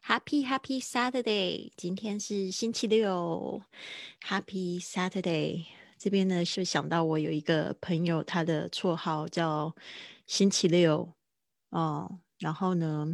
Happy Saturday！今天是星期六，Happy Saturday！这边呢是想到我有一个朋友，他的绰号叫星期六哦，然后呢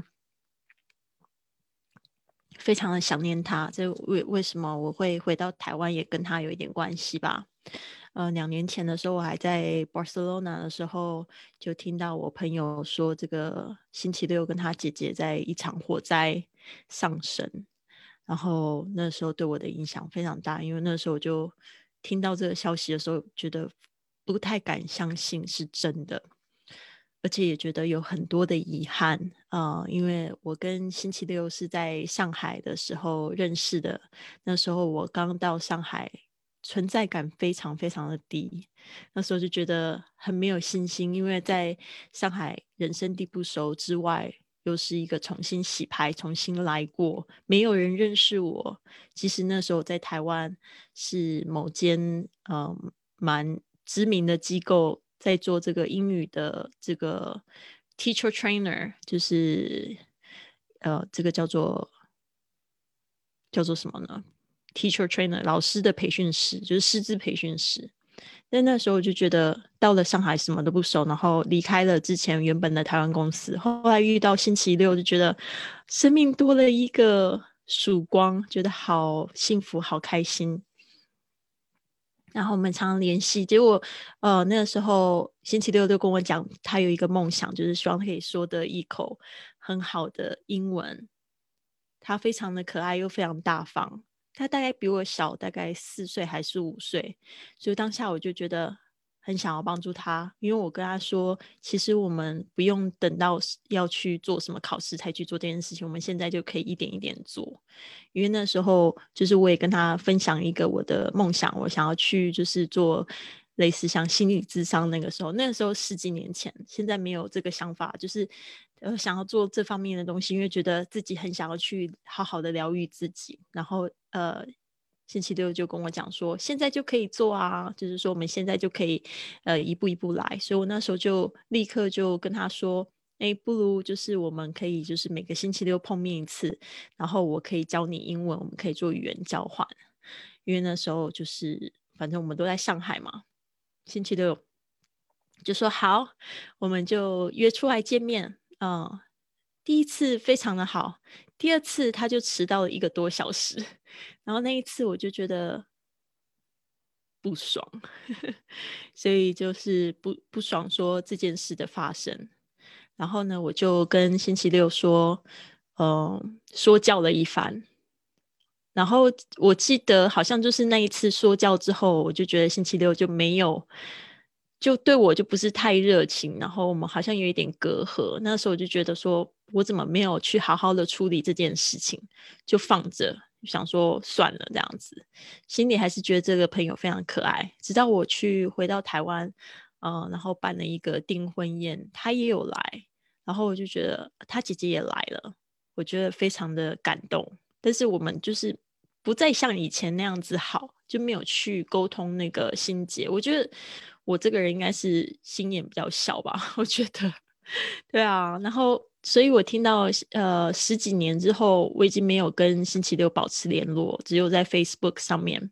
非常的想念他，这为什么我会回到台湾也跟他有一点关系吧。2年前的时候，我还在 Barcelona 的时候，就听到我朋友说，这个星期六跟他姐姐在一场火灾丧生，然后那时候对我的影响非常大，因为那时候我就听到这个消息的时候，觉得不太敢相信是真的，而且也觉得有很多的遗憾因为我跟星期六是在上海的时候认识的，那时候我刚到上海，存在感非常非常的低，那时候就觉得很没有信心，因为在上海人生地不熟之外，又是一个重新洗牌、重新来过，没有人认识我。其实那时候在台湾是某间蛮知名的机构在做这个英语的这个 teacher trainer，就是这个叫做什么呢？teacher trainer 老师的培训师，就是师资培训师。但那时候我就觉得到了上海什么都不熟，然后离开了之前原本的台湾公司，后来遇到星期六就觉得生命多了一个曙光，觉得好幸福好开心。然后我们常常联系，结果那个时候星期六就跟我讲，他有一个梦想，就是希望可以说得一口很好的英文。他非常的可爱又非常大方，他大概比我小大概4岁还是5岁，所以当下我就觉得很想要帮助他，因为我跟他说，其实我们不用等到要去做什么考试才去做这件事情，我们现在就可以一点一点做。因为那时候就是我也跟他分享一个我的梦想，我想要去就是做类似像心理咨商，那个时候十几年前，现在没有这个想法，就是想要做这方面的东西，因为觉得自己很想要去好好的疗愈自己，然后星期六就跟我讲说，现在就可以做啊，就是说我们现在就可以一步一步来，所以我那时候就立刻就跟他说，哎，不如就是我们可以就是每个星期六碰面一次，然后我可以教你英文，我们可以做语言交换。因为那时候就是反正我们都在上海嘛，星期六就说好，我们就约出来见面。第一次非常的好，第二次他就迟到了1个多小时，然后那一次我就觉得不爽，所以就是不爽说这件事的发生。然后呢，我就跟星期六说，说教了一番。然后我记得好像就是那一次说教之后，我就觉得星期六就没有，就对我就不是太热情，然后我们好像有一点隔阂。那时候我就觉得说，我怎么没有去好好的处理这件事情，就放着，想说算了这样子，心里还是觉得这个朋友非常可爱。直到我回到台湾，然后办了一个订婚宴，他也有来，然后我就觉得他姐姐也来了，我觉得非常的感动。但是我们就是不再像以前那样子好，就没有去沟通那个心结。我觉得我这个人应该是心眼比较小吧，我觉得，对啊。然后，所以我听到十几年之后，我已经没有跟星期六保持联络，只有在 Facebook 上面，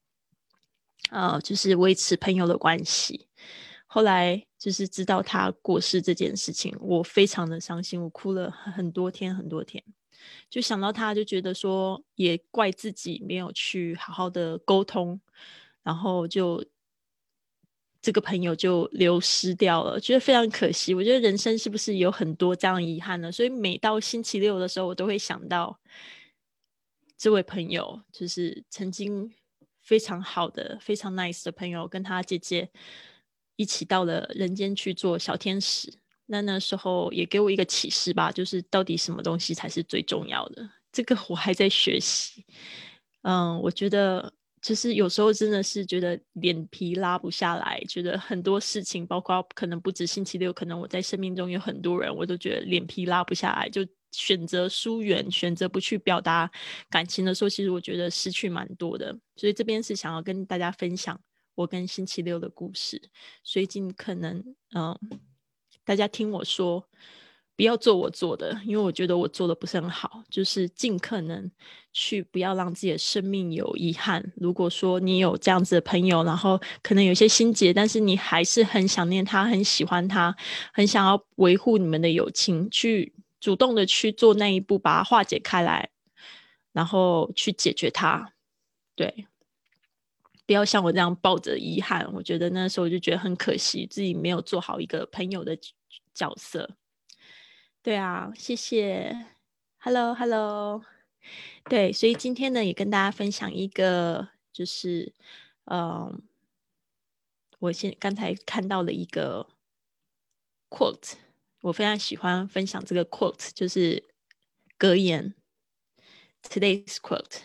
就是维持朋友的关系。后来就是知道他过世这件事情，我非常的伤心，我哭了很多天很多天。就想到他就觉得说也怪自己没有去好好的沟通，然后就这个朋友就流失掉了，觉得非常可惜。我觉得人生是不是有很多这样遗憾呢？所以每到星期六的时候，我都会想到这位朋友，就是曾经非常好的、非常 nice 的朋友，跟他姐姐一起到了人间去做小天使。那时候也给我一个启示吧，就是到底什么东西才是最重要的？这个我还在学习。我觉得就是有时候真的是觉得脸皮拉不下来，觉得很多事情，包括可能不止星期六，可能我在生命中有很多人，我都觉得脸皮拉不下来，就选择疏远，选择不去表达感情的时候，其实我觉得失去蛮多的。所以这边是想要跟大家分享我跟星期六的故事，所以尽可能大家听我说， 不要做我做的，因为我觉得我做的不是很好，就是尽可能去不要让自己的生命有遗憾。如果说你有这样子的朋友，然后可能有些心结，但是你还是很想念他，很喜欢他，很想要维护你们的友情，去主动的去做那一步，把它化解开来，然后去解决它。对，不要像我这样抱着遗憾，我觉得那时候我就觉得很可惜，自己没有做好一个朋友的角色。对啊，谢谢。Hello，对，所以今天呢，也跟大家分享一个，就是嗯，我刚才看到了一个 quote，我非常喜欢分享这个 quote，就是格言 today's quote。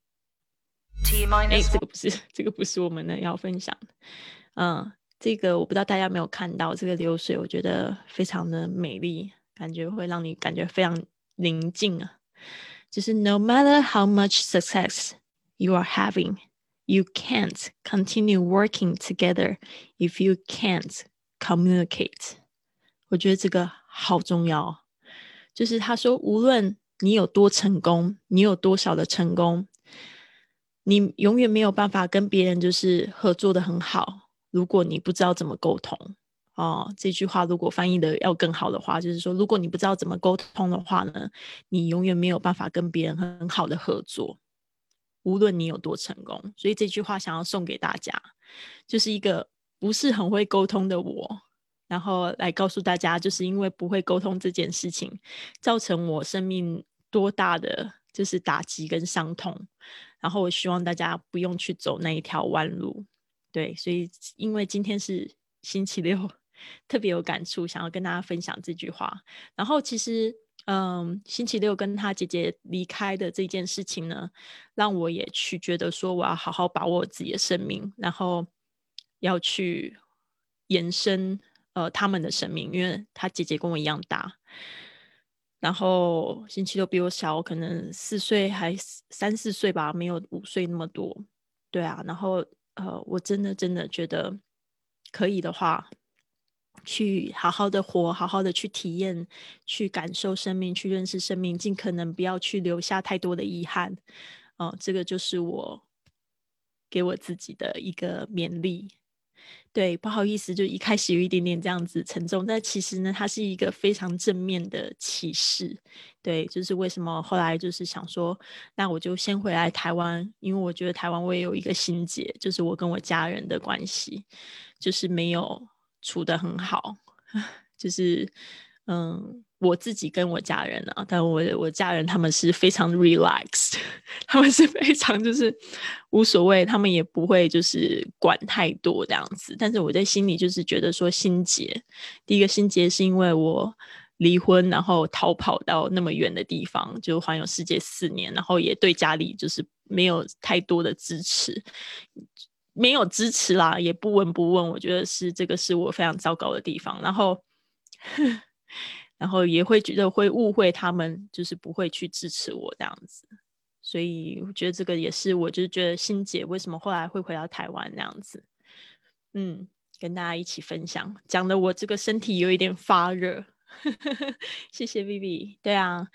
这个不是我们要分享的。这个我不知道大家有没有看到，这个流水我觉得非常的美丽，感觉会让你感觉非常宁静啊。就是 No matter how much success you are having, you can't continue working together if you can't communicate。我觉得这个好重要。就是他说，无论你有多成功，你有多少的成功，你永远没有办法跟别人就是合作的很好，如果你不知道怎么沟通。这句话如果翻译的要更好的话，就是说，如果你不知道怎么沟通的话呢，你永远没有办法跟别人很好的合作，无论你有多成功。所以这句话想要送给大家，就是一个不是很会沟通的我，然后来告诉大家，就是因为不会沟通这件事情，造成我生命多大的就是打击跟伤痛，然后我希望大家不用去走那一条弯路。对，所以因为今天是星期六，特别有感触，想要跟大家分享这句话。然后其实星期六跟他姐姐离开的这件事情呢，让我也去觉得说我要好好把握我自己的生命，然后要去延伸他们的生命，因为他姐姐跟我一样大，然后星期六比我小，可能4岁还3、4岁吧，没有5岁那么多。对啊，然后我真的觉得可以的话，去好好的活，好好的去体验，去感受生命，去认识生命，尽可能不要去留下太多的遗憾。这个就是我给我自己的一个勉励。对，不好意思，就一开始有一点点这样子沉重，但其实呢，它是一个非常正面的启示。对，就是为什么后来就是想说，那我就先回来台湾，因为我觉得台湾我也有一个心结，就是我跟我家人的关系，就是没有处得很好，就是我自己跟我家人啊，但我家人他们是非常 relaxed， 他们是非常就是无所谓，他们也不会就是管太多这样子。但是我在心里就是觉得说心结，第一个心结是因为我离婚，然后逃跑到那么远的地方，就环游世界4年，然后也对家里就是没有太多的支持。没有支持啦，也不闻不问，我觉得这个是我非常糟糕的地方。然后然后也会觉得会误会他们，就是不会去支持我这样子。所以我觉得这个也是我就是觉得欣姐为什么后来会回到台湾那样子。跟大家一起分享，讲的我这个身体有一点发热。谢谢 Vivi。 对啊，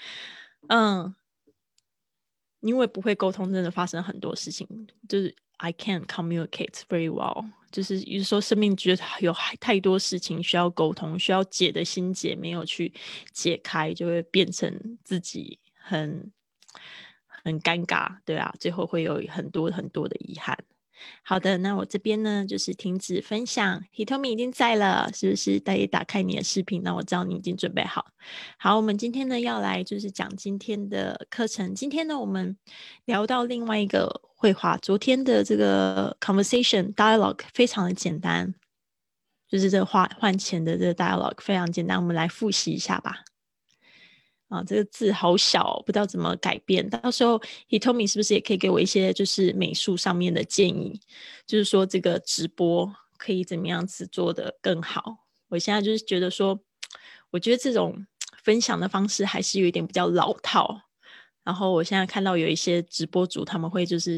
因为不会沟通真的发生很多事情，就是 I can't communicate very well， 就是有时候生命觉得有太多事情需要沟通，需要解的心结没有去解开，就会变成自己很尴尬。对啊，最后会有很多的遗憾。好的，那我这边呢就是停止分享。 Hitomi 已经在了，是不是？大家打开你的视频，那我知道你已经准备好。好，我们今天呢要来就是讲今天的课程。今天呢我们聊到另外一个绘画，昨天的这个 conversation dialogue 非常的简单，就是这个换钱的这个 dialogue 非常简单，我们来复习一下吧。这个字好小，不知道怎么改变。到时候 Hitomi 是不是也可以给我一些就是美术上面的建议，就是说这个直播可以怎么样子做得更好。我现在就是觉得说，我觉得这种分享的方式还是有一点比较老套。然后我现在看到有一些直播主他们会就是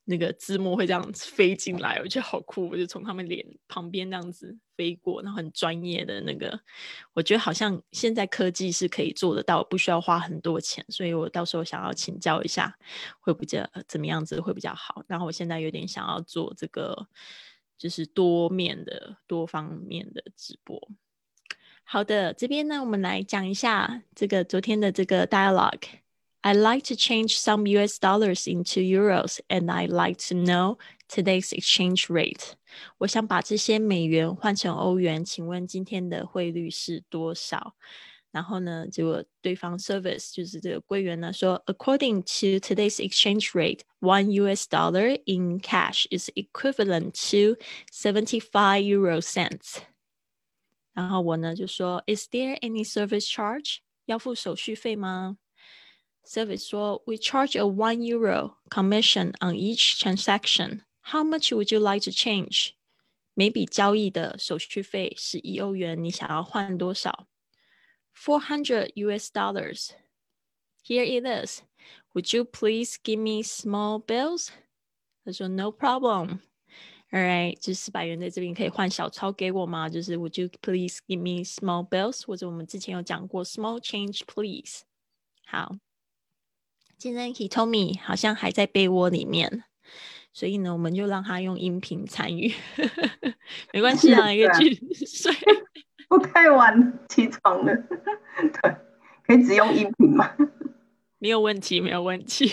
那个字幕会这样飞进来，我觉得好酷，我就从他们脸旁边这样子飞过，然后很专业的那个，我觉得好像现在科技是可以做得到，不需要花很多钱，所以我到时候想要请教一下会比较怎么样子会比较好。然后我现在有点想要做这个就是多方面的直播。好的，这边呢我们来讲一下这个昨天的这个 dialogue。I'd like to change some US dollars into euros and I'd like to know today's exchange rate. 我想把这些美元换成欧元，请问今天的汇率是多少？然后呢，结果对方 service 就是这个柜员呢说 ，According to today's exchange rate, one US dollar in cash is equivalent to 75 euro cents. 然后我呢就说 ，Is there any service charge？ 要付手续费吗？Service 说 We charge a €1 commission on each transaction. How much would you like to change? 每笔交易的手续费是1欧元，你想要换多少？$400 US. Here it is. Would you please give me small bills? 他说 No problem. Alright, 就是400元在这边可以换小钞给我吗？就是 Would you please give me small bills? 或者我们之前有讲过 small change please. 好。今天 Hitomi 好像还在被窝里面，所以呢，我们就让他用音频参与，没关系啊，一个继续睡。 我太晚起床了，对，可以只用音频吗？ 没有问题，没有问题，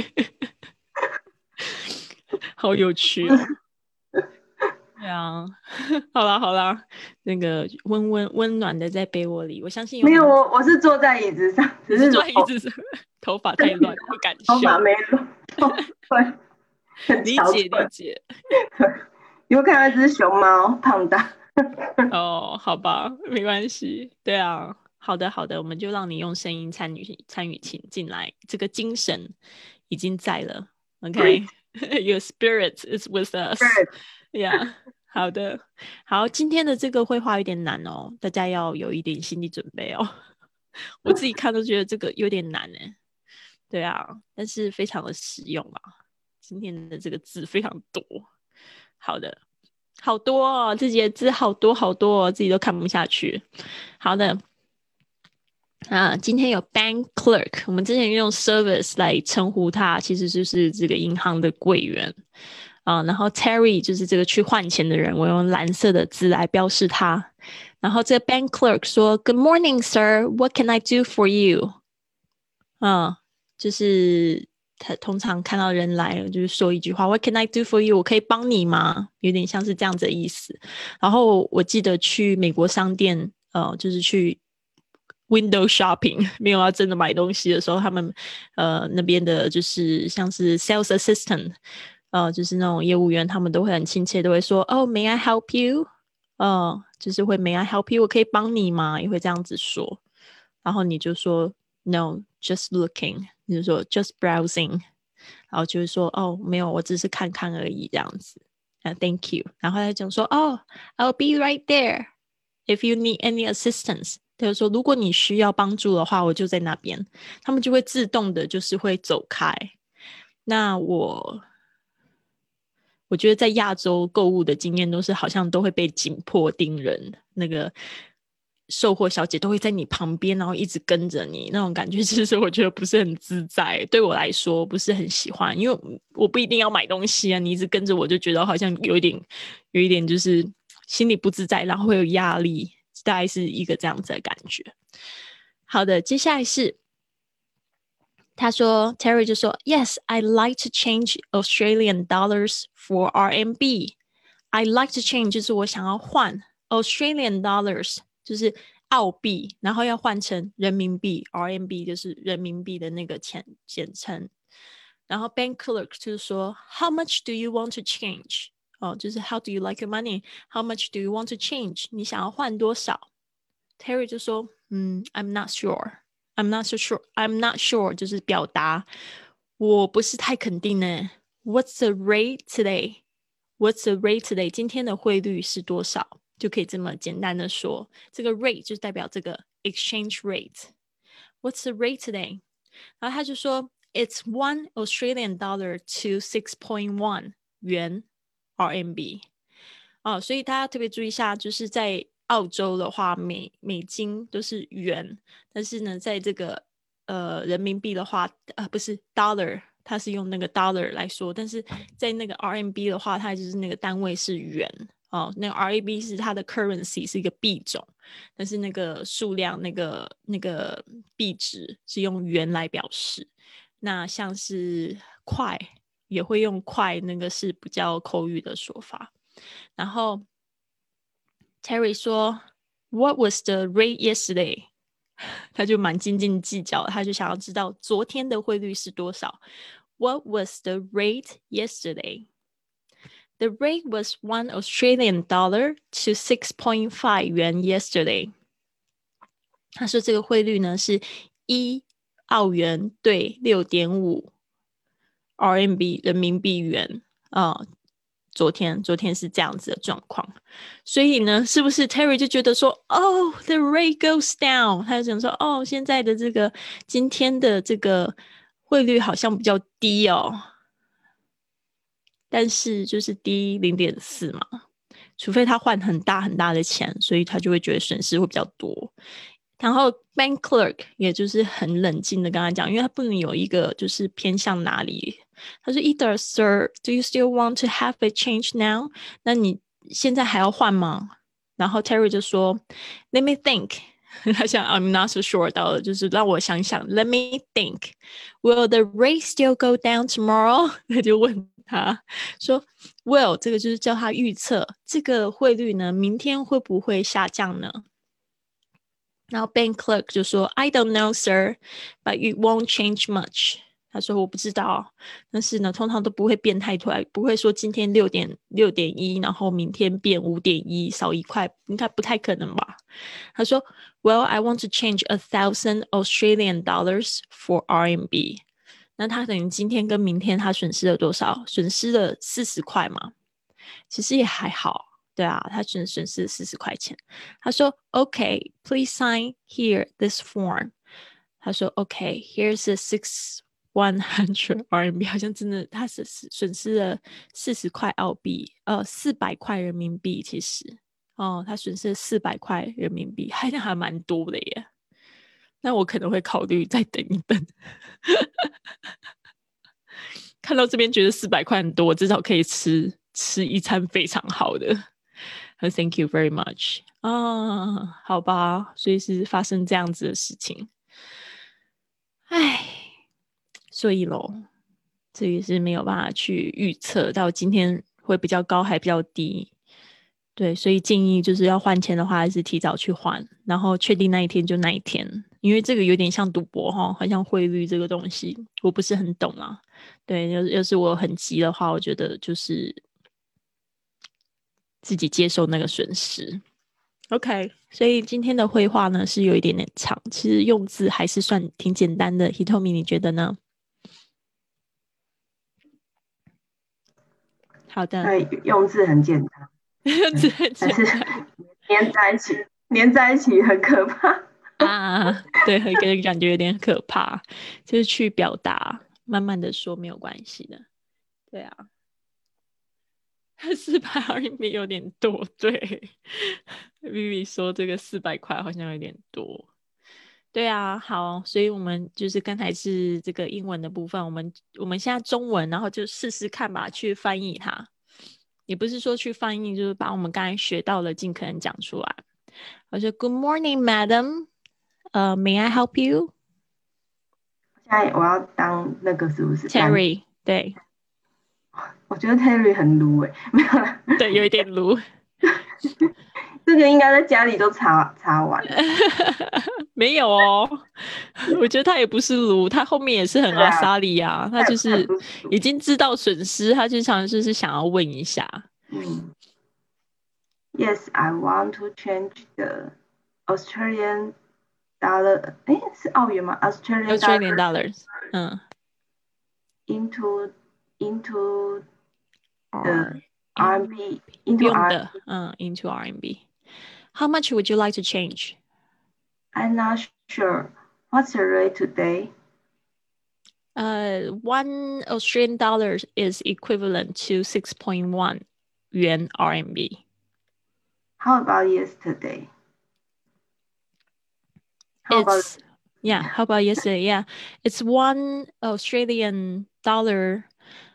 好有趣哦。对啊，好啦好啦，那个温暖的在被窝里，我相信没有，我是坐在椅子上，只是坐在椅子上，头发太乱不敢修， 头发没乱，对， 理解理解。 对，你会看到一只熊猫胖大。 哦，好吧，没关系。对啊，好的好的，我们就让你用声音参与进来，这个精神已经在了。OK，Your spirit is with us. Yeah， 好的，好，今天的这个绘画有点难哦，大家要有一点心理准备哦。我自己看都觉得这个有点难哎。对啊，但是非常的实用啊。今天的这个字非常多。好的。好多哦，自己的字好多好多哦，自己都看不下去。好的，今天有 bank clerk， 我们之前用 service 来称呼他，其实就是这个银行的柜员然后 Terry 就是这个去换钱的人，我用蓝色的字来标示他。然后这个 bank clerk 说 Good morning, sir. What can I do for you? 就是他通常看到人来了，就是说一句话 What can I do for you? 我可以帮你吗？有点像是这样子的意思。然后我记得去美国商店就是去 window shopping 没有要真的买东西的时候，他们那边的就是像是 sales assistant 就是那种业务员，他们都会很亲切，都会说Oh, may I help you? 就是会 May I help you? 我可以帮你吗？也会这样子说。然后你就说 No, just looking， 你就说 just browsing， 然后就是说哦没有，我只是看看而已这样子Thank you， 然后他讲说哦 I'll be right there if you need any assistance， 他就说如果你需要帮助的话我就在那边，他们就会自动的就是会走开。那我觉得在亚洲购物的经验都是好像都会被紧迫盯人，那个售货小姐都会在你旁边，然后一直跟着你，那种感觉其实我觉得不是很自在，对我来说不是很喜欢，因为我不一定要买东西啊，你一直跟着我就觉得好像有一点就是心里不自在，然后会有压力，大概是一个这样子的感觉。好的，接下来是他说 Terry 就说 Yes, I'd like to change Australian dollars for RMB. I'd like to change 就是我想要换 Australian dollars 就是澳币，然后要换成人民币 RMB 就是人民币的那个简称。然后 bank clerk 就是说 How much do you want to change? 就是 How do you like your money? How much do you want to change? 你想要换多少 Terry 就说I'm not sure.I'm not so sure. I'm not sure 就是表达我不是太肯定呢。What's the rate today? What's the rate today? 今天的汇率是多少？就可以这么简单的说，这个 rate 就代表这个 exchange rate. What's the rate today? 然后他就说 It's one Australian dollar to 6.1 元 RMB。所以大家特别注意一下，就是在澳洲的话，美金都是元，但是呢，在这个人民币的话，不是 dollar， 它是用那个 dollar 来说，但是在那个 RMB 的话，它就是那个单位是元。那个 RMB 是它的 currency 是一个币种，但是那个数量那个币值是用元来表示。那像是块也会用块，那个是比较口语的说法。然后 Terry 说 What was the rate yesterday？ 他就蛮斤斤计较的，他就想要知道昨天的汇率是多少。What was the rate yesterday? The rate was 1 Australian dollar to 6.5 元 yesterday。 他说这个汇率呢是1澳元对 6.5 RMB 人民币元。昨天是这样子的状况，所以呢，是不是 Terry 就觉得说the rate goes down， 他就想说现在的这个今天的这个汇率好像比较低但是就是低 0.4 嘛，除非他换很大很大的钱，所以他就会觉得损失会比较多。然后 bank clerk 也就是很冷静的跟他讲，因为他不能有一个就是偏向哪里。他说 Either sir, do you still want to have a change now？ 那你现在还要换吗？然后 Terry 就说 Let me think。 他想 I'm not so sure 到了，就是让我想想 Let me think. Will the rate still go down tomorrow？ 他就问他说 Will 这个就是叫他预测这个汇率呢明天会不会下降呢？然后 bank clerk 就说 I don't know sir, but it won't change much。 他说我不知道，但是呢通常都不会变太快，不会说今天 6.1 然后明天变 5.1 少1块，应该不太可能吧。他说 Well, I want to change 1,000 Australian dollars for RMB。 那他等于今天跟明天他损失了多少？损失了40块嘛，其实也还好。对啊，他损失40块钱。他说 OK, please sign here this form。 他说 OK, here's the 100 RMB， 好像真的他是损失了40块澳币，400块人民币。其实他损失了400块人民币，还蛮多的耶。那我可能会考虑再等一等。看到这边觉得400块很多，至少可以吃一餐非常好的。Thank you very much。好吧，所以是发生这样子的事情。所以咯，这也是没有办法去预测到今天会比较高还比较低。对，所以建议就是要换钱的话，还是提早去换，然后确定那一天就那一天，因为这个有点像赌博好像汇率这个东西，我不是很懂啊。对，要是我很急的话，我觉得就是自己接受那个损失。OK， 所以今天的绘画呢是有一点点长，其实用字还是算挺简单的。Hitomi 你觉得呢？好的， 对，用字很简单， 用字很简单， 但是粘在一起很可怕对，给人感觉有点可怕，就是去表达，慢慢的说没有关系的。对啊，400 RMB 有点多，对，Vivi 说这个400块好像有点多。对啊，好，所以我们就是刚才是这个英文的部分，我们现在中文，然后就试试看吧，去翻译它。也不是说去翻译，就是把我们刚才学到的尽可能讲出来。我说 Good morning, madam. May I help you? 现在我要当那个是不是 Terry？ 对， 我觉得 Terry 很鲁没有啦， 对，有一点鲁。 这个应该在家里都查完了。 没有我觉得他也不是鲁，他后面也是很阿莎利啊，他就是已经知道损失，他就常就是想要问一下。 Yes, I want to change the Australian dollar. 是澳元吗 ？Australian dollars. Into the RMB. Into into RMB. How much would you like to change? I'm not sure. What's the rate today? 1 Australian dollar is equivalent to 6.1 yuan RMB. How about yesterday? How about yesterday? Yeah, it's 1 Australian dollar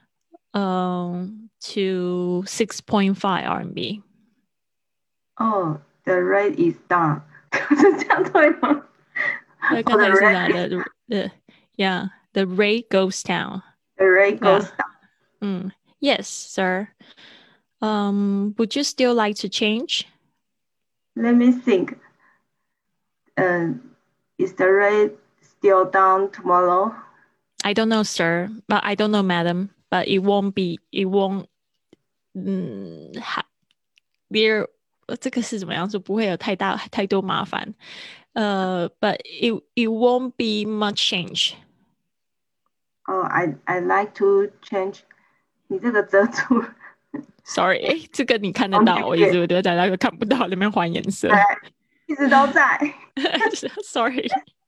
to 6.5 RMB. Oh, the rate is down. 是这样对吗？ 刚才是哪的？Yeah, the rate goes down. The rate goes down. Yes, sir. Would you still like to change? Let me think. Is the rate still down tomorrow? I don't know, sir. But I don't know, madam. But it won't be. It won't. 这个是怎么样说？不会有太多麻烦。But it won't be much change. Oh, I like to change. 你这个遮住。 Sorry，这个你看得到，我一直都在那个看不到那边换颜色。 一直都在。 Sorry.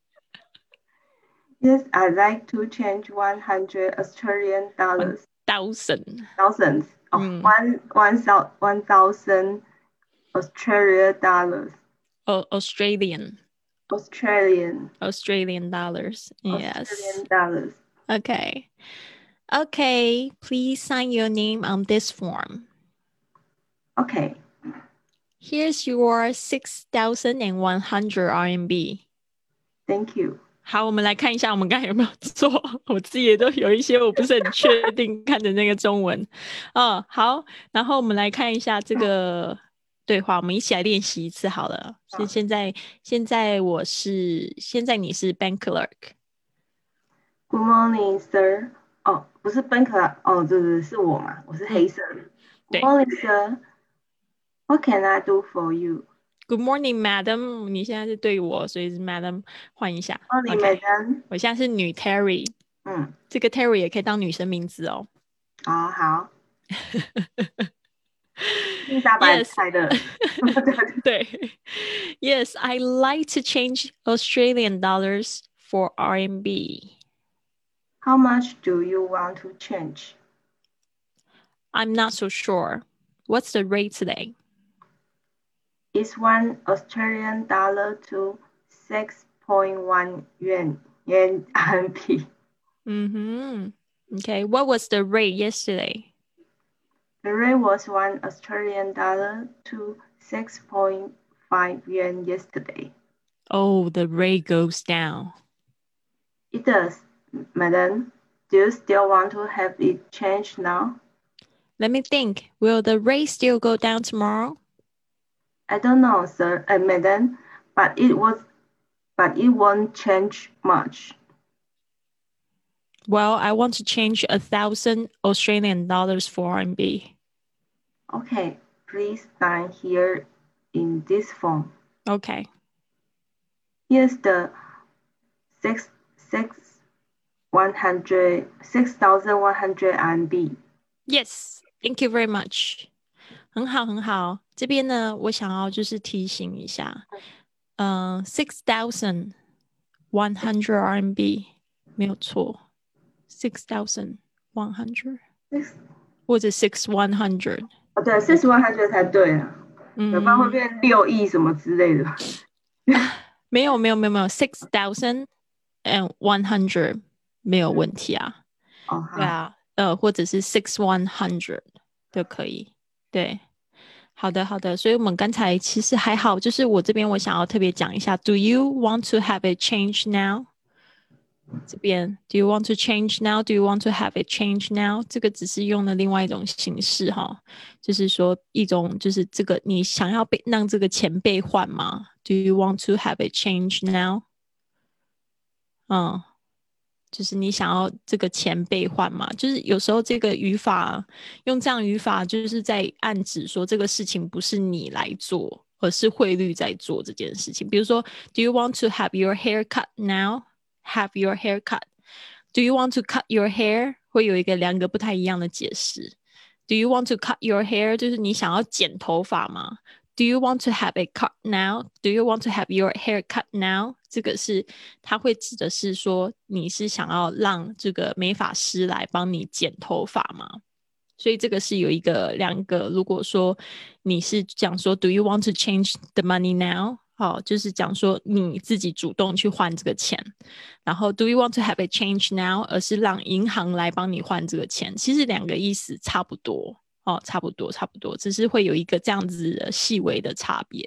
Yes, I like to change 100 Australian dollars. Thousands. Oh, 1,000 Australian dollars. Australian dollars. Yes. Australian dollars. Okay, please sign your name on this form. Okay. Here's your 6,100 RMB. Thank you. 好，我们来看一下我们刚才有没有做，我自己也都有一些我不是很确定看的那个中文。好，然后我们来看一下这个对话，我们一起来练习一次好了。现在你是 bank clerk. Good morning, sir. 哦，不是 bank clerk. 哦，对，是我嘛，我是黑色的。Good morning, sir. What can I do for you? Good morning, madam. 你现在是对我，所以是 madam 换一下。 Morning, madam. 我现在是女 Terry. 这个 Terry 也可以当女生名字哦。 好。丽莎白猜的。 对。Yes, I like to change Australian dollars for RMB. How much do you want to change? I'm not so sure. What's the rate today? It's 1 Australian dollar to 6.1 yuan RMB. Okay, what was the rate yesterday? The rate was 1 Australian dollar to 6.5 yuan yesterday. Oh, the rate goes down. It does, madam. Do you still want to have it changed now? Let me think. Will the rate still go down tomorrow? I don't know, sir, madam, but it won't change much. Well, I want to change 1,000 Australian dollars for RMB. Okay, please sign here in this form. Okay. Here's the 6,100 RMB. Yes, thank you very much. 很好。这边呢，我想要就是提醒一下，6,100 RMB 没有错，6,100或者6,100。 对，6,100才对啊。要不然会变6亿什么之类的。 没有，6,100没有问题啊。对啊，或者是6,100都可以。对。好的，所以我们刚才其实还好，就是我这边我想要特别讲一下 ，Do you want to have it change now？ 这边 Do you want to change now？ Do you want to have it change now？ 这个只是用了另外一种形式哈，就是说一种就是这个你想要让这个钱被换吗 ？Do you want to have it change now？ 就是你想要这个钱被换嘛？就是有时候这个语法用这样语法，就是在暗指说这个事情不是你来做，而是汇率在做这件事情。比如说 ，Do you want to have your hair cut now? Have your hair cut. Do you want to cut your hair? 会有两个不太一样的解释。Do you want to cut your hair? 就是你想要剪头发吗 Do you want to have a cut now? Do you want to have your hair cut now? 这个是它会指的是说你是想要让这个美发师来帮你剪头发吗？所以这个是有两个，如果说你是讲说 Do you want to change the money now? 就是讲说你自己主动去换这个钱，然后 Do you want to have a change now? 而是让银行来帮你换这个钱，其实两个意思差不多。差不多，只是会有一个这样子的细微的差别。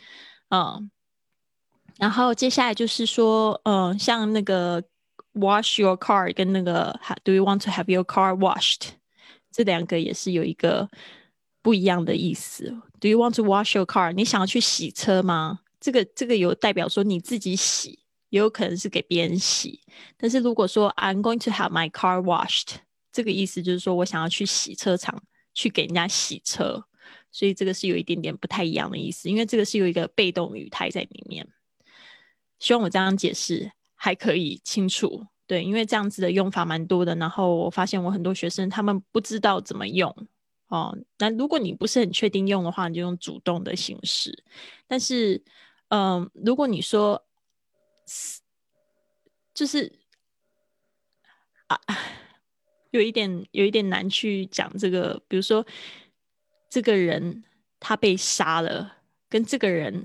然后接下来就是说，像那个 wash your car 跟那个 Do you want to have your car washed? 这两个也是有一个不一样的意思。Do you want to wash your car? 你想要去洗车吗？这个有代表说你自己洗，也有可能是给别人洗。但是如果说 I'm going to have my car washed, 这个意思就是说我想要去洗车场去给人家洗车，所以这个是有一点点不太一样的意思，因为这个是有一个被动语态在里面。希望我这样解释还可以清楚。对，因为这样子的用法蛮多的，然后我发现我很多学生他们不知道怎么用。那如果你不是很确定用的话，你就用主动的形式。但是如果你说就是有一点难去讲这个，比如说这个人他被杀了，跟这个人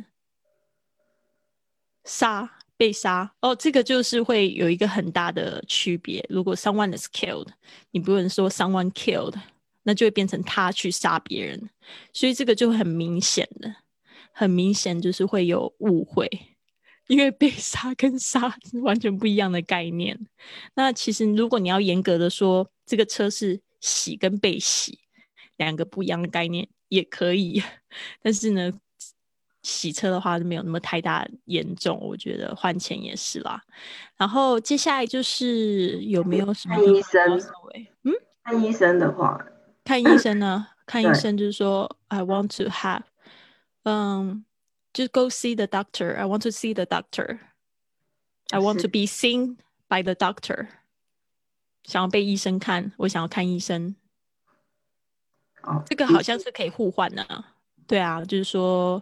被杀，这个就是会有一个很大的区别。如果 someone is killed, 你不能说 someone killed, 那就会变成他去杀别人，所以这个就很明显就是会有误会。因为被杀跟杀是完全不一样的概念。那其实如果你要严格的说这个车是洗跟被洗两个不一样的概念也可以，但是呢洗车的话没有那么太大严重，我觉得换钱也是啦。然后接下来就是有没有什么看医生？看医生的话， 看医生呢？看医生就是说 I want to have just go see the doctor. I want to see the doctor. I want to be seen by the doctor. 想要被医生看，我想要看医生。这个好像是可以互换的。对啊，就是说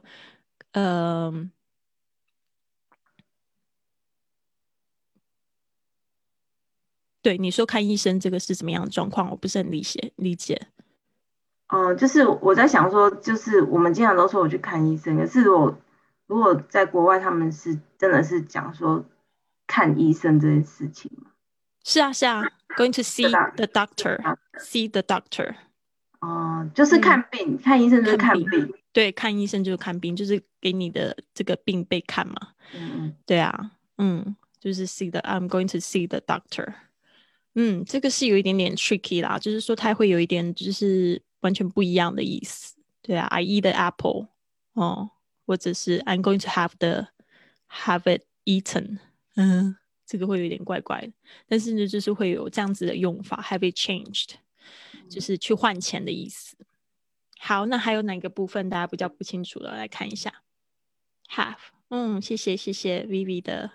对，你说看医生这个是怎么样的状况，我不是很理解。 就是我在想说，就是我们经常都说我去看医生，可是如果在国外他们是真的是讲说看医生这件事情吗？ 是啊，going to see the doctor. See the doctor. 就是看病，看医生就是看病。 对，看医生就是看病，就是给你的这个病被看嘛。对啊，就是 I'm going to see the doctor. 这个是有一点点 tricky 啦，就是说它会有一点就是完全不一样的意思。对啊，I eat the apple. 或者是 I'm going to have it eaten. 这个会有点怪怪的，但是呢就是会有这样子的用法 have it changed, 就是去换钱的意思。好，那还有哪个部分大家比较不清楚的，来看一下。have, 谢谢 Vivi 的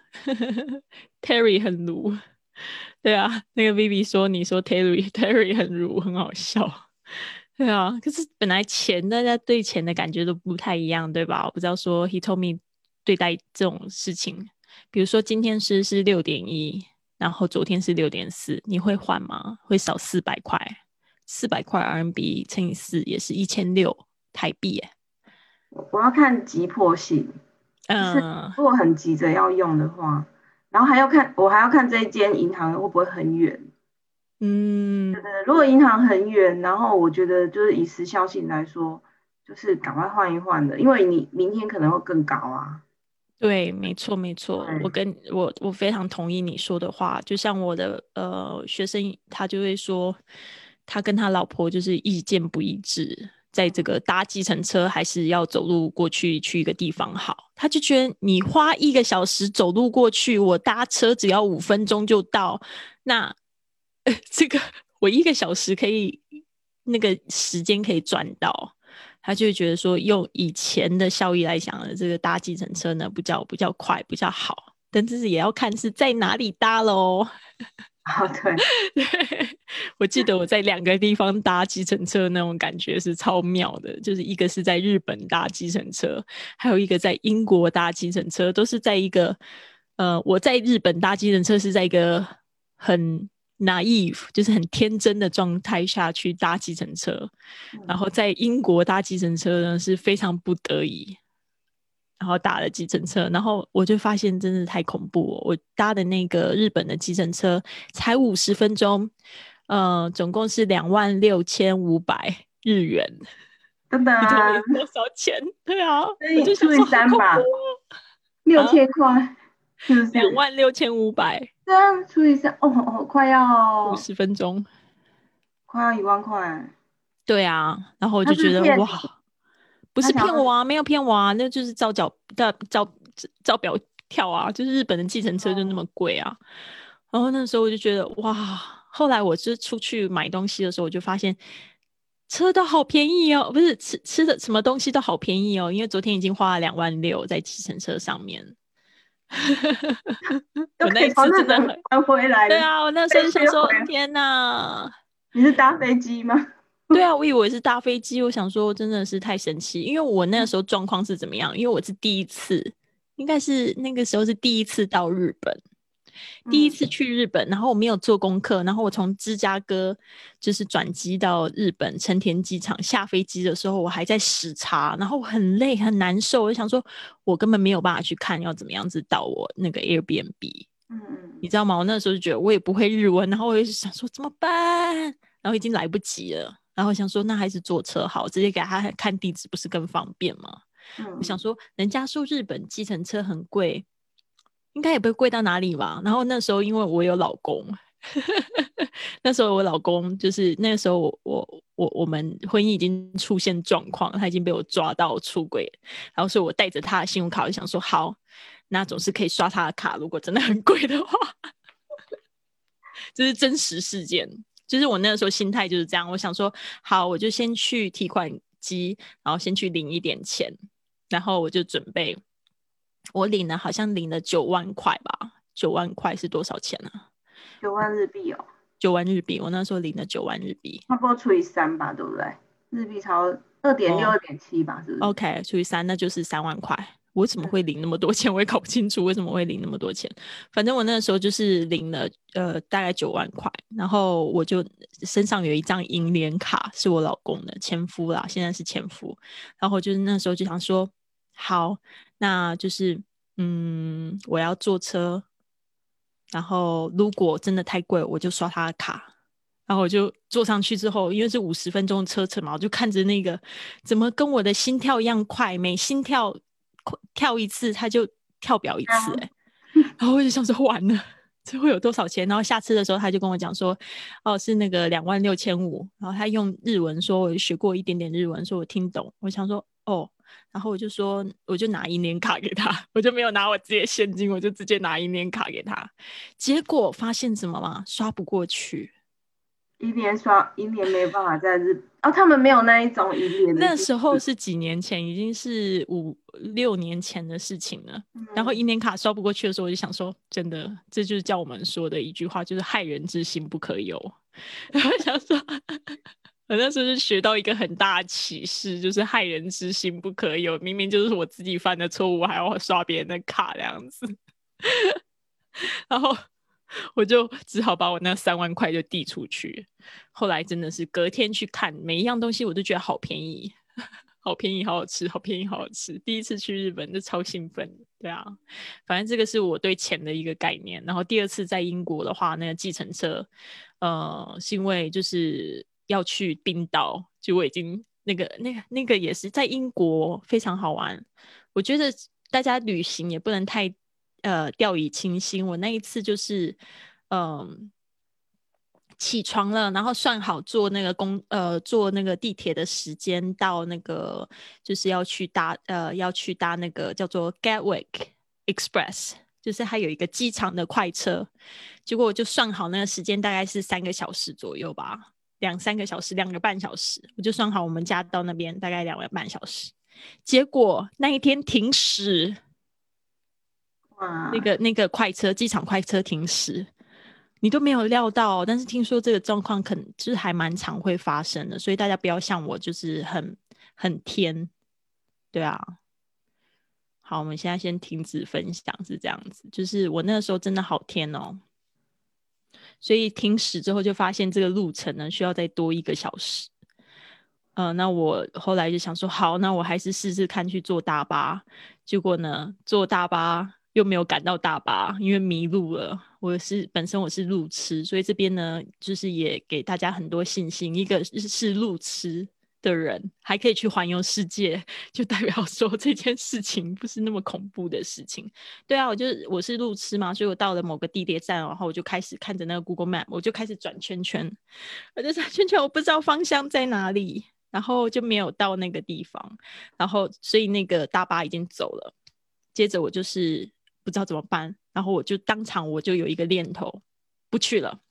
Terry 很鲁。对啊，那个 Vivi 说你说 Terry 很鲁，很好笑。对啊，可是本来大家对钱的感觉都不太一样，对吧？我不知道说 he told me 对待这种事情，比如说今天是6.1，然后昨天是6.4，你会换吗？会少400块，400块 RMB 乘以4也是1600台币耶。 我要看急迫性，如果很急着要用的话，然后我还要看这一间银行会不会很远。如果银行很远，然后我觉得就是以时效性来说，就是赶快换一换的，因为你明天可能会更高啊。 对，没错，我非常同意你说的话。就像我的学生，他就会说，他跟他老婆就是意见不一致，在这个搭计程车还是要走路过去一个地方好。他就觉得你花1个小时走路过去，我搭车只要5分钟就到，那这个我1个小时可以那个时间可以赚到。他就会觉得说用以前的效益来想的这个搭计程车呢比较快比较好，但是也要看是在哪里搭咯。 对， 我记得我在2个地方搭计程车，那种感觉是超妙的，就是一个是在日本搭计程车，还有一个在英国搭计程车，都是在一个我在日本搭计程车是在一个很 naive 就是很天真的状态下去搭计程车，然后在英国搭计程车呢是非常不得已，然后打了计程车，然后我就发现真的太恐怖了。我搭的那个日本的计程车才50分钟，总共是26,500日元。 真的啊， 你懂多少钱？对啊， 所以除以我就想说好 3吧恐怖 ，6000块，是不是 ？26,500， 这样除以3，哦， 50分钟。 快要1万块。 对啊，然后我他就觉得是骗你， 哇，不是他想要骗我啊，没有骗我啊，那就是照表跳啊，就是日本的计程车就那么贵啊。然后那时候我就觉得哇，后来我是出去买东西的时候，我就发现车都好便宜哦，不是吃的什么东西都好便宜哦，因为昨天已经花了2万6在计程车上面。 都可我那一以从日本次真的很， 还回来了， 对啊，我那时候再就想说， 学回来。 天哪！ 你是搭飞机吗？ 对啊，我以为是搭飞机，我想说真的是太神奇，因为我那个时候状况是怎么样？因为我是第一次，应该是那个时候是第一次到日本，第一次去日本，然后我没有做功课，然后我从芝加哥就是转机到日本成田机场，下飞机的时候我还在时差，然后我很累很难受，我就想说我根本没有办法去看要怎么样子到我那个 Airbnb，你知道吗？我那时候就觉得我也不会日文，然后我就想说怎么办？然后已经来不及了，然后想说那还是坐车好，直接给他看地址不是更方便吗？我想说人家说日本计程车很贵，应该也不会贵到哪里吧。然后那时候因为我有老公，那时候我老公就是那个时候我们婚姻已经出现状况，他已经被我抓到出轨，然后所以我带着他的信用卡，我就想说好，那总是可以刷他的卡，如果真的很贵的话。这是真实事件，就是我那个时候心态就是这样，我想说好，我就先去提款机，然后先去领一点钱，然后我就准备，我好像领了9万块吧，9万块是多少钱啊 9万日币哦， ？9万日币，我那时候领了9万日币， 差不多除以3吧，对不对？日币超2.6、 哦 2.7吧，是不是？ ，OK，除以3，那就是3万块。我怎么会领那么多钱？我也搞不清楚为什么会领那么多钱。反正我那个时候就是领了大概9万块，然后我就身上有一张银联卡，是我老公的前夫啦，现在是前夫。然后就是那时候就想说，好，那就是我要坐车，然后如果真的太贵，我就刷他的卡。然后我就坐上去之后，因为是50分钟的车程嘛，我就看着那个怎么跟我的心跳一样快，每心跳一次，它就跳表一次、欸，然后我就想说完了，这会有多少钱？然后下次的时候，他就跟我讲说，哦，是那个26,500，然后他用日文说，我学过一点点日文，说我听懂，我想说哦，然后我就说，我就拿银联卡给他，我就没有拿我自己的现金，我就直接拿银联卡给他，结果发现什么吗？刷不过去。 银联没办法在哦，他们没有那一种银联的那机制。 时候是几年前，已经是5、6年前的事情了。然后银联卡刷不过去的时候，我就想说，真的，这就是叫我们说的一句话，就是害人之心不可有。然后想说，我那时候就学到一个很大的启示，就是害人之心不可有。明明就是我自己犯的错误，还要刷别人的卡这样子。然后我就只好把我那3万块就递出去。后来真的是隔天去看每一样东西，我都觉得好便宜，好便宜，好好吃，好便宜，好好吃。第一次去日本就超兴奋，对啊，反正这个是我对钱的一个概念。然后第二次在英国的话，那个计程车，是因为就是要去冰岛，就我已经那个也是在英国非常好玩。我觉得大家旅行也不能太掉以轻心。我那一次就是起床了，然后算好坐那个地铁的时间到那个就是要去搭那个叫做 Gatwick Express，就是它有一个机场的快车。结果我就算好那个时间大概是3个小时左右吧，2、3个小时2个半小时，我就算好我们家到那边大概2个半小时。结果那一天停驶，那个机场快车停驶， 你都没有料到，但是听说这个状况可能就是还蛮常会发生的，所以大家不要像我就是很天。对啊，好，我们现在先停止分享，是这样子，就是我那个时候真的好天哦，所以停驶之后就发现这个路程呢需要再多1个小时。那我后来就想说，好，那我还是试试看去坐大巴。结果呢，坐大巴又没有赶到大巴，因为迷路了。本身我是路痴，所以这边呢，就是也给大家很多信心。一个是路痴的人还可以去环游世界，就代表说这件事情不是那么恐怖的事情。对啊，我是路痴嘛，所以我到了某个地铁站，然后我就开始看着那个 Google Map， 我就开始转圈圈，我就转圈圈，我不知道方向在哪里。然后就没有到那个地方，然后所以那个大巴已经走了。接着我就是不知道怎么办，然后我就当场我就有一个念头，不去了。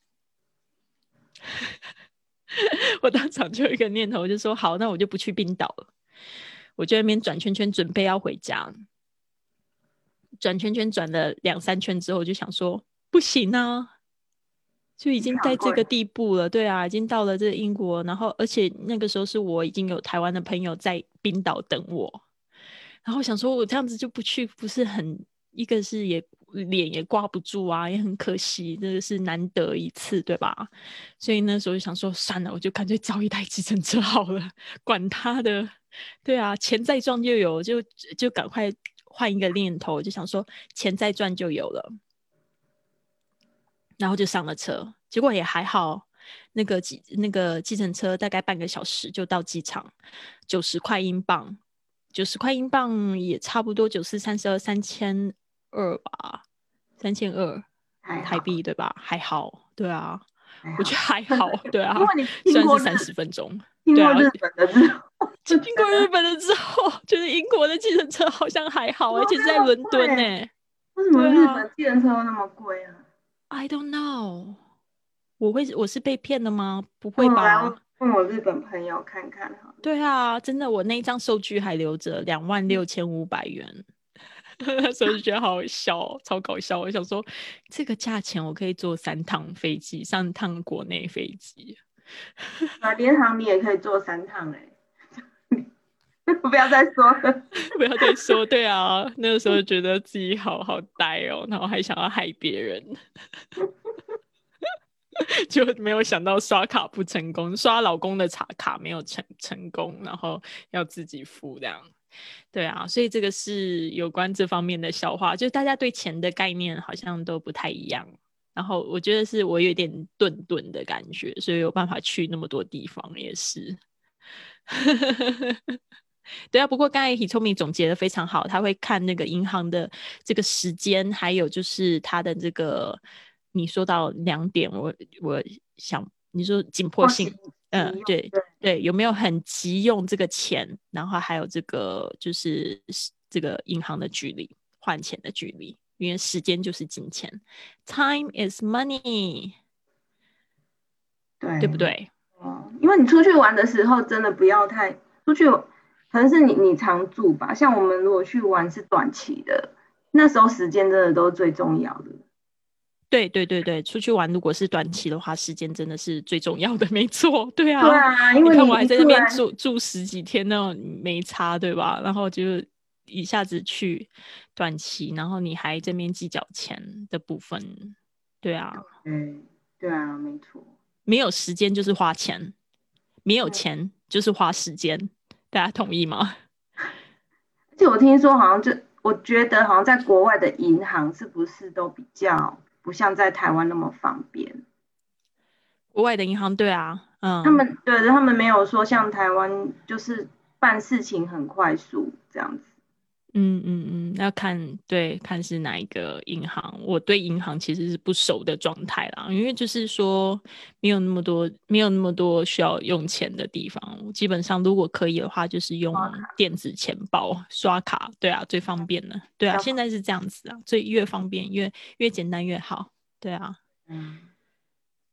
我当场就有一个念头，就说好，那我就不去冰岛了。我就在那边转圈圈，准备要回家。转圈圈转了2-3圈之后，我就想说不行啊。就已经在这个地步了，对啊，已经到了这个英国，然后而且那个时候是我已经有台湾的朋友在冰岛等我，然后想说我这样子就不去，不是很一个是脸也挂不住啊，也很可惜，这个是难得一次，对吧？所以那时候就想说算了，我就干脆找一台计程车好了，管他的，对啊，钱再赚就有，就赶快换一个念头，就想说钱再赚就有了。然后就上了车，结果也还好，那个计程车大概半个小时就到机场，90块英镑，90块英镑也差不多9432 3200吧，3200台币对吧？还好，对啊，我觉得还好，对啊，虽然是30分钟， 听过日本的之后， 经过日本的之后，觉得英国的计程车好像还好，而且是在伦敦呢。 为什么日本计程车那么贵啊？ I don't know。我是被骗的吗？不会吧？ 问我日本朋友看看好了。 对啊，真的，我那一张收据还留着，26,500元。那时候就觉得好好笑，超搞笑。我想说，这个价钱我可以坐3趟飞机，3趟国内飞机。 联航你也可以坐3趟哎。不要再说了， 不要再说。对啊，那个时候觉得自己好好呆哦，然后还想要害别人。就没有想到刷卡不成功，刷老公的卡没有成功，然后要自己付这样。对啊，所以这个是有关这方面的笑话，就大家对钱的概念好像都不太一样。然后我觉得是我有点顿的感觉，所以有办法去那么多地方也是。对啊，不过刚才 Hitomi 总结的非常好，他会看那个银行的这个时间，还有就是他的这个你说到2点，我想你说紧迫性，对，有没有很急用这个钱，然后还有这个就是这个银行的距离，换钱的距离，因为时间就是金钱 ，Time is money， 对不对？ 因为你出去玩的时候，真的不要太出去，可能是你常住吧。像我们如果去玩是短期的，那时候时间真的都是最重要的。 对，出去玩如果是短期的话，时间真的是最重要的，没错。对啊， 对啊，因为你看我还在那边住10几天那种没差，对吧？然后就一下子去短期，然后你还这边计较钱的部分，对啊， 对啊，没错。 没有时间就是花钱，没有钱就是花时间，大家同意吗？ 而且我听说好像我觉得好像在国外的银行是不是都比较不像在台湾那么方便？ 国外的银行，对啊， 他们没有说像台湾就是办事情很快速这样子。 要看是哪一个银行。我对银行其实是不熟的状态啦，因为就是说没有那么多需要用钱的地方。基本上如果可以的话，就是用电子钱包刷卡，对啊，最方便的。对啊，现在是这样子啊，所以越方便越简单越好。对啊。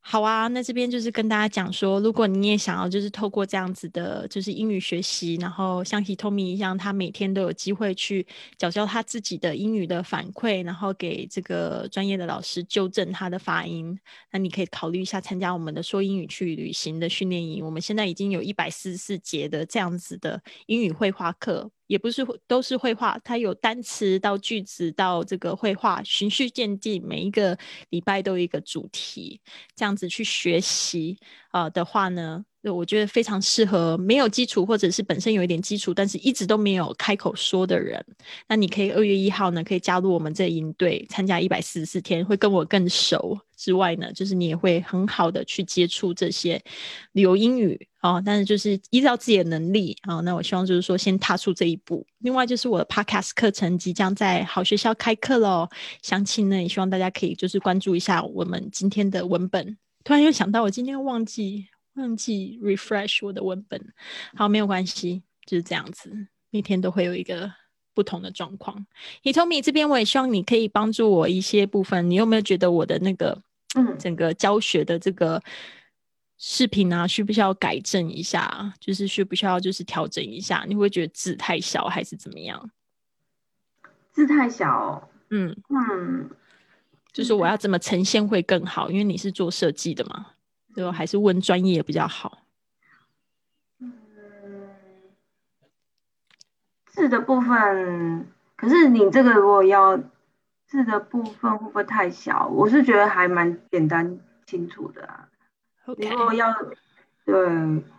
好啊，那这边就是跟大家讲说，如果你也想要就是透过这样子的，就是英语学习，然后像 Hitomi 一样，他每天都有机会去缴交他自己的英语的反馈，然后给这个专业的老师纠正他的发音，那你可以考虑一下参加我们的说英语去旅行的训练营。我们现在已经有144节的这样子的英语绘画课，也不是都是绘画，它有单词到句子到这个绘画，循序渐进，每一个礼拜都有一个主题，这样子去学习的话呢，我觉得非常适合没有基础或者是本身有一点基础但是一直都没有开口说的人。那你可以2月1号呢可以加入我们这营队，参加144天，会跟我更熟之外呢，就是你也会很好的去接触这些旅游英语但是就是依照自己的能力那我希望就是说先踏出这一步。另外就是我的 podcast 课程即将在好学校开课咯，详情呢也希望大家可以就是关注一下我们今天的文本。突然又想到我今天忘记 refresh 我的文本，好，没有关系，就是这样子，每天都会有一个不同的状况。Hitomi 这边我也希望你可以帮助我一些部分，你有没有觉得我的那个整个教学的这个视频啊需不需要改正一下，就是需不需要就是调整一下？你会觉得字太小还是怎么样？ 字太小就是我要怎么呈现会更好，因为你是做设计的嘛，对吧？还是问专业比较好？ 字的部分，可是你这个如果要字的部分会不会太小？我是觉得还蛮简单清楚的啊。 Okay. 你如果要对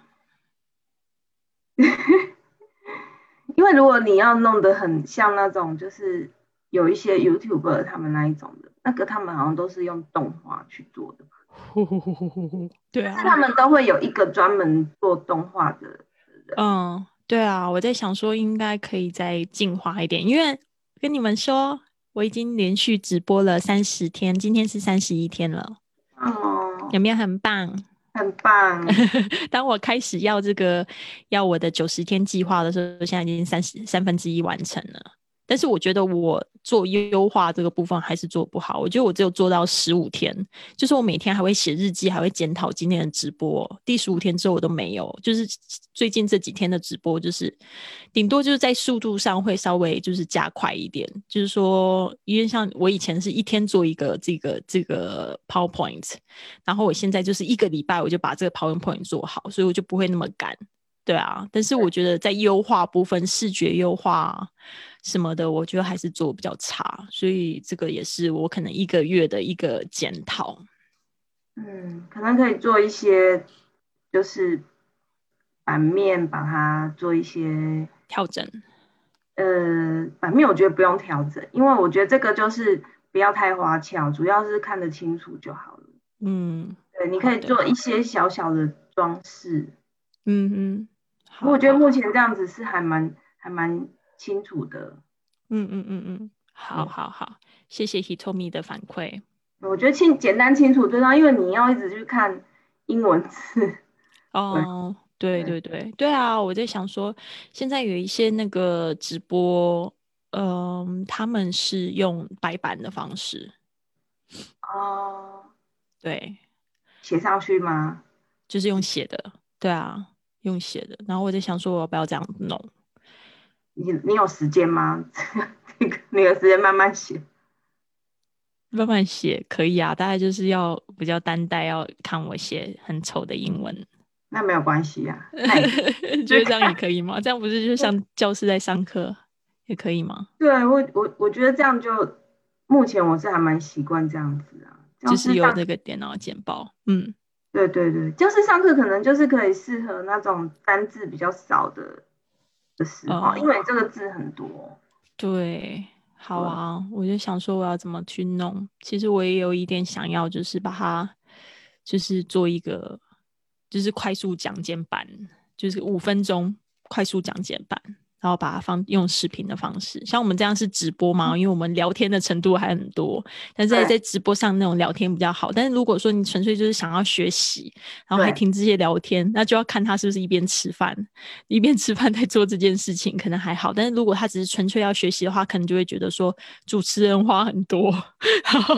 因为如果你要弄得很像那种就是有一些 YouTuber 他们那一种的，那个他们好像都是用动画去做的。 对啊， 但是他们都会有一个专门做动画的人。 对啊，我在想说应该可以再进化一点，因为跟你们说我已经连续直播了30天，今天是31天了。有没有很棒？ 很棒。 当我开始要我的90天计划的时候，现在已经1/3完成了。但是我觉得我做优化这个部分还是做不好，我觉得我只有做到15天，就是我每天还会写日记，还会检讨今天的直播，第15天之后我都没有，就是最近这几天的直播就是顶多就是在速度上会稍微就是加快一点，就是说因为像我以前是一天做一个这个 PowerPoint， 然后我现在就是1个礼拜我就把这个 PowerPoint 做好，所以我就不会那么赶。对啊，但是我觉得在优化部分，视觉优化什么的，我觉得还是做比较差，所以这个也是我可能1个月的一个检讨。 可能可以做一些，就是版面把它做一些调整。 版面我觉得不用调整，因为我觉得这个就是不要太花俏，主要是看得清楚就好了。对，你可以做一些小小的装饰。我觉得目前这样子是还蛮清楚的。 好，谢谢 Hitomi 的反馈。 我觉得简单清楚最重要，因为你要一直去看英文字。 对啊，我在想说，现在有一些那个直播，他们是用白板的方式。对， 写上去吗？ 就是用写的，对啊，用写的。然后我在想说，我要不要这样弄？ 你有时间吗？你有时间慢慢写？ 慢慢写可以啊，大概就是要比较担待，要看我写很丑的英文。 那没有关系啊。 觉得这样也可以吗？这样不是就像教室在上课也可以吗？ 对，我觉得这样就目前我是还蛮习惯这样子啊， 就是有那个电脑简报。 对，就是上课可能就是可以适合那种单字比较少的时候，因为这个字很多。 对，好啊，我就想说我要怎么去弄。其实我也有一点想要，就是把它就是做一个就是快速讲解版，就是5分钟快速讲解版，然后把它用视频的方式。像我们这样是直播嘛，因为我们聊天的程度还很多，但是在直播上那种聊天比较好。但是如果说你纯粹就是想要学习，然后还听这些聊天，那就要看他是不是一边吃饭在做这件事情，可能还好。但是如果他只是纯粹要学习的话，可能就会觉得说主持人话很多。 对，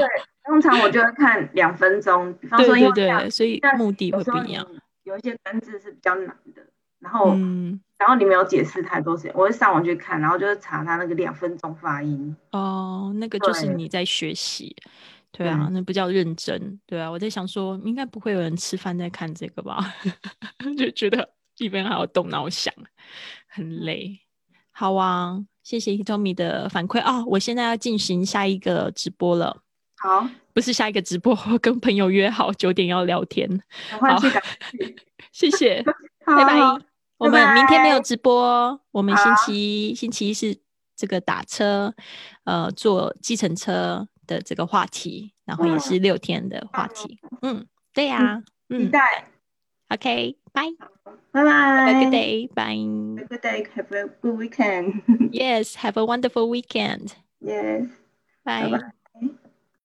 通常我就会看2分钟，比方说，因为对，所以目的会不一样。 有一些单字是比较难的，然后你没有解释太多时间，我会上网去看，然后就是查它那个2分钟发音。 那个就是你在学习。对啊，那不叫认真。对啊，我在想说，应该不会有人吃饭在看这个吧？就觉得一边还要动脑想，很累。好啊，谢谢 Hitomi 的反馈啊！我现在要进行下一个直播了。 好， 不是下一个直播，我跟朋友约好9点要聊天。 赶快去， 谢谢，拜拜。我们明天没有直播，我们星期一是这个打车，坐计程车的这个话题，然后也是6天的话题。对呀， 期待。 OK， bye， 拜拜。 Have a good day, bye. Have a good day. Have a good weekend. Yes, have a wonderful weekend. Yes. Bye.